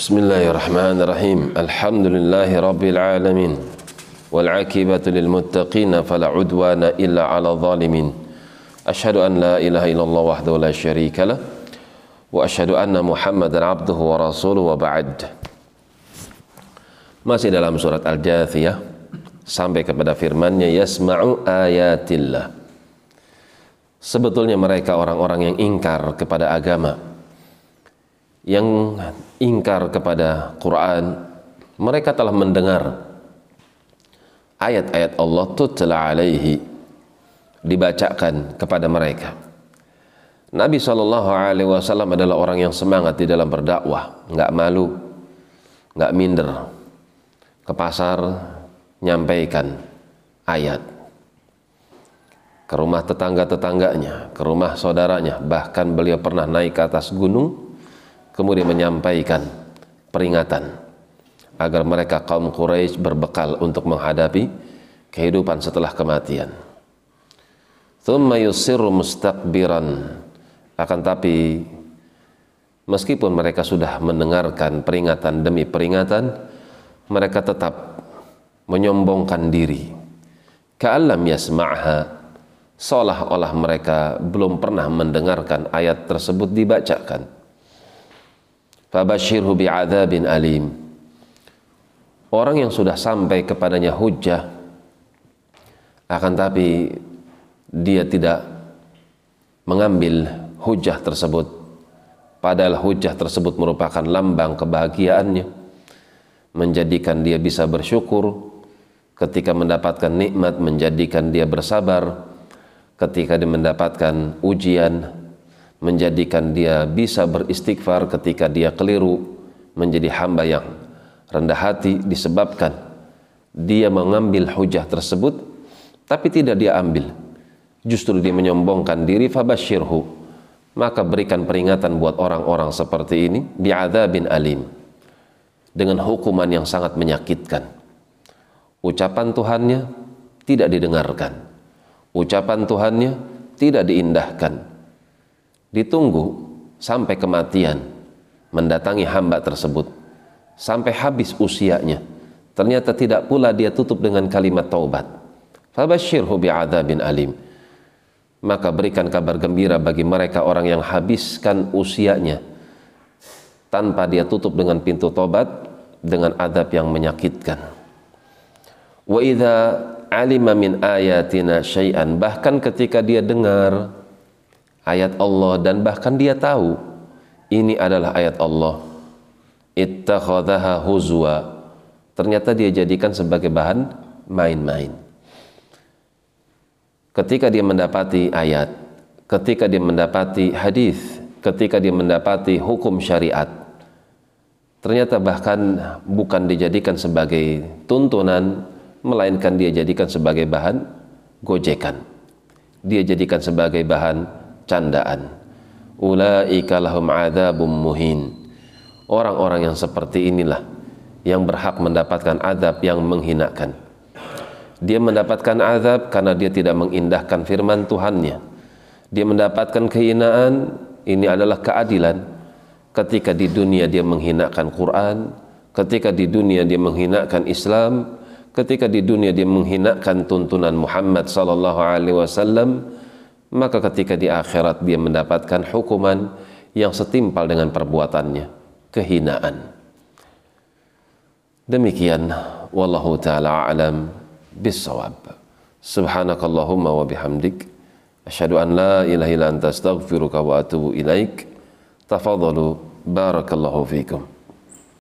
Bismillahirrahmanirrahim. Alhamdulillahi rabbil alamin. Wal 'aqibatu lil muttaqin fala 'udwana illa 'alal zalimin. Asyhadu an la ilaha illallah wahdahu la syarika lah wa asyhadu anna Muhammadan 'abduhu wa rasuluhu wa ba'd. Masih dalam surat Al-Jathiyah sampai kepada firman-Nya yasma'u ayatillah. Sebetulnya mereka orang-orang yang ingkar kepada agama, yang ingkar kepada Quran, mereka telah mendengar ayat-ayat Allah tutla alaihi, dibacakan kepada mereka. Nabi SAW adalah orang yang semangat di dalam berdakwah, nggak malu, nggak minder, ke pasar nyampaikan ayat, ke rumah tetangga-tetangganya, ke rumah saudaranya, bahkan beliau pernah naik ke atas gunung kemudian menyampaikan peringatan agar mereka kaum Quraisy berbekal untuk menghadapi kehidupan setelah kematian. Thumma yusirru mustakbiran, akan tapi meskipun mereka sudah mendengarkan peringatan demi peringatan, mereka tetap menyombongkan diri. Ka'allam yasma'ha, seolah-olah mereka belum pernah mendengarkan ayat tersebut dibacakan. Fabashirhu bi'adzabin alim. Orang yang sudah sampai kepadanya hujjah, akan tapi dia tidak mengambil hujjah tersebut, padahal hujjah tersebut merupakan lambang kebahagiaannya, menjadikan dia bisa bersyukur ketika mendapatkan nikmat, menjadikan dia bersabar ketika dia mendapatkan ujian, menjadikan dia bisa beristighfar ketika dia keliru, menjadi hamba yang rendah hati disebabkan dia mengambil hujah tersebut tapi tidak dia ambil, justru dia menyombongkan diri. Fabashirhu, maka berikan peringatan buat orang-orang seperti ini bi'adzabin alim, dengan hukuman yang sangat menyakitkan. Ucapan Tuhannya tidak didengarkan, ucapan Tuhannya tidak diindahkan, ditunggu sampai kematian mendatangi hamba tersebut, sampai habis usianya, ternyata tidak pula dia tutup dengan kalimat taubat. Fabashirhu bi'adzabin alim, maka berikan kabar gembira bagi mereka orang yang habiskan usianya tanpa dia tutup dengan pintu taubat, dengan azab yang menyakitkan. Wa idza alima min ayatina syai'an, bahkan ketika dia dengar ayat Allah dan bahkan dia tahu ini adalah ayat Allah, ittakhadhaha huzwa, ternyata dia jadikan sebagai bahan main-main. Ketika dia mendapati ayat, ketika dia mendapati hadis, ketika dia mendapati hukum syariat, ternyata bahkan bukan dijadikan sebagai tuntunan, melainkan dia jadikan sebagai bahan gojekan, dia jadikan sebagai bahan candaan. Ulaika lahum adzabum muhin, orang-orang yang seperti inilah yang berhak mendapatkan azab yang menghinakan. Dia mendapatkan azab karena dia tidak mengindahkan firman Tuhannya. Dia mendapatkan kehinaan, ini adalah keadilan. Ketika di dunia dia menghinakan Quran, ketika di dunia dia menghinakan Islam, ketika di dunia dia menghinakan tuntunan Muhammad sallallahu alaihi wasallam, maka ketika di akhirat dia mendapatkan hukuman yang setimpal dengan perbuatannya, kehinaan. Demikian, wallahu ta'ala a'lam bissawab. Subhanakallahumma wa bihamdik, asyhadu an la ilaha illa anta astaghfiruka wa atubu ilaik. Tafadhalu, barakallahu fikum.